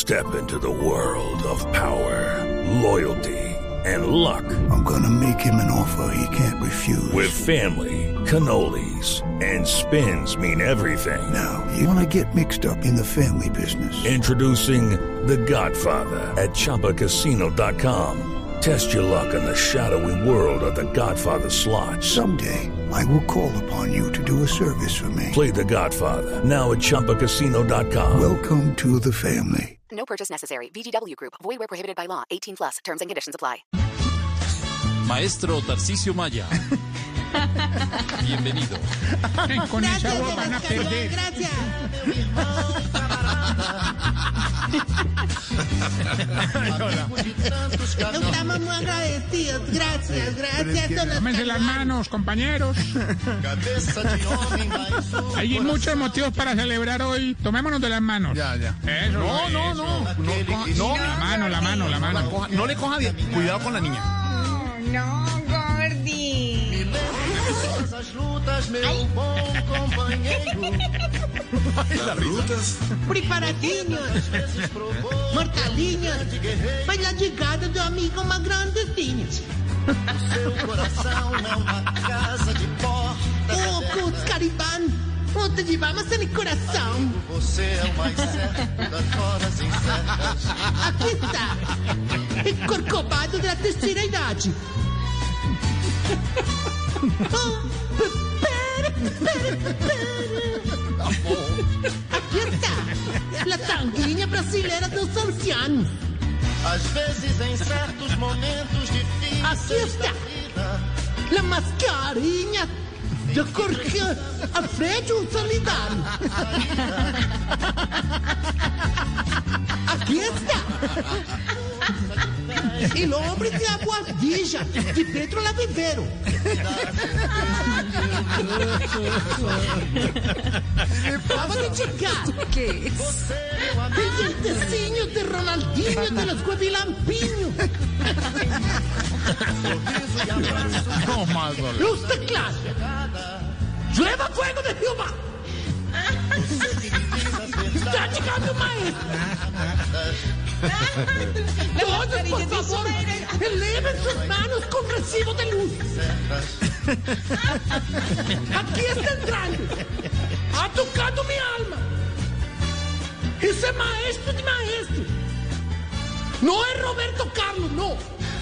Step into the world of power, loyalty, and luck. I'm gonna make him an offer he can't refuse. With family, cannolis, and spins mean everything. Now, you wanna get mixed up in the family business. Introducing The Godfather at ChumbaCasino.com. Test your luck in the shadowy world of The Godfather slot. Someday, I will call upon you to do a service for me. Play The Godfather now at ChumbaCasino.com. Welcome to the family. No purchase necessary. VGW Group. Void where prohibited by law. 18 plus. Terms and conditions apply. Maestro Tarcisio Maya. Bienvenido. Con esa voz van a perder. Gracias. Estamos muy agradecidos. Gracias. Tómense las manos, compañeros. Hay muchos motivos para celebrar hoy. Tomémonos de las manos. Ya. Eso, No. La mano. No le coja bien. Cuidado con la niña. No, Gordy. Las rutas. Preparadinhos. Mortalinhos. Vai la llegada do amigo mais grandezinhos. Oh, putz, Cariban. Oh, te llevamos en el corazón. Aqui está. El corcovado da terceira idade. Oh, aqui está. La sanguínea brasileira dos ancianos. Às vezes em certos momentos difíceis. Aqui está. La mascarinha de Jorge Alfredo Solidário. Aqui está. El hombre de Aguadilla, de Pedro Lavivero. Acaba de chegar. ¿Qué es? El dientecillo de Ronaldinho de los Guavilampiños. No más, vale. Luz de clase. Llueva fuego de Jehová. Está llegando el maestro. Todos, por favor, eleven sus manos con recibo de luz. Aquí está entrando. Ha tocado mi alma. Ese maestro de maestro. No es Roberto Carlos, no.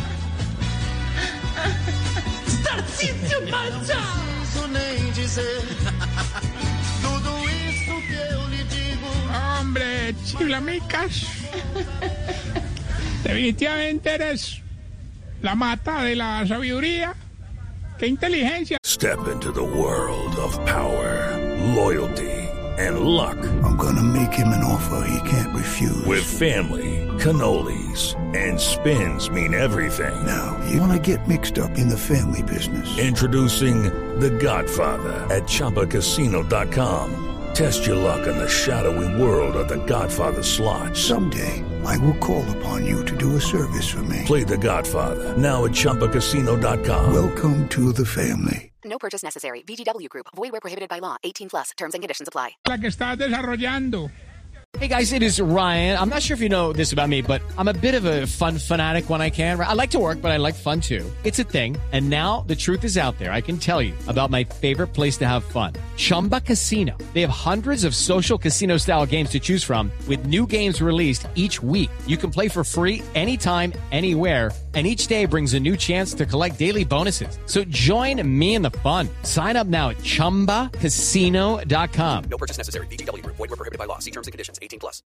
Tarcisio Maya. Nem dizer tudo isso que eu lhe digo. Hombre, chiflamicas. Definitivamente eres la mata de la sabiduría. ¡Qué inteligencia! Step into the world of power, loyalty, and luck. I'm gonna make him an offer he can't refuse. With family, cannolis, and spins mean everything. Now, you wanna get mixed up in the family business. Introducing The Godfather at ChumbaCasino.com. Test your luck in the shadowy world of The Godfather slot. Someday, I will call upon you to do a service for me. Play The Godfather now at ChumbaCasino.com. Welcome to the family. No purchase necessary. VGW Group. Void where prohibited by law. 18 plus. Terms and conditions apply. La que estás desarrollando. Hey guys, it is Ryan. I'm not sure if you know this about me, but I'm a bit of a fun fanatic when I can. I like to work, but I like fun too. It's a thing. And now the truth is out there. I can tell you about my favorite place to have fun. Chumba Casino. They have hundreds of social casino style games to choose from with new games released each week. You can play for free anytime, anywhere. And each day brings a new chance to collect daily bonuses. So join me in the fun. Sign up now at ChumbaCasino.com. No purchase necessary. VGW Group. Void where prohibited by law. See terms and conditions. 18 plus.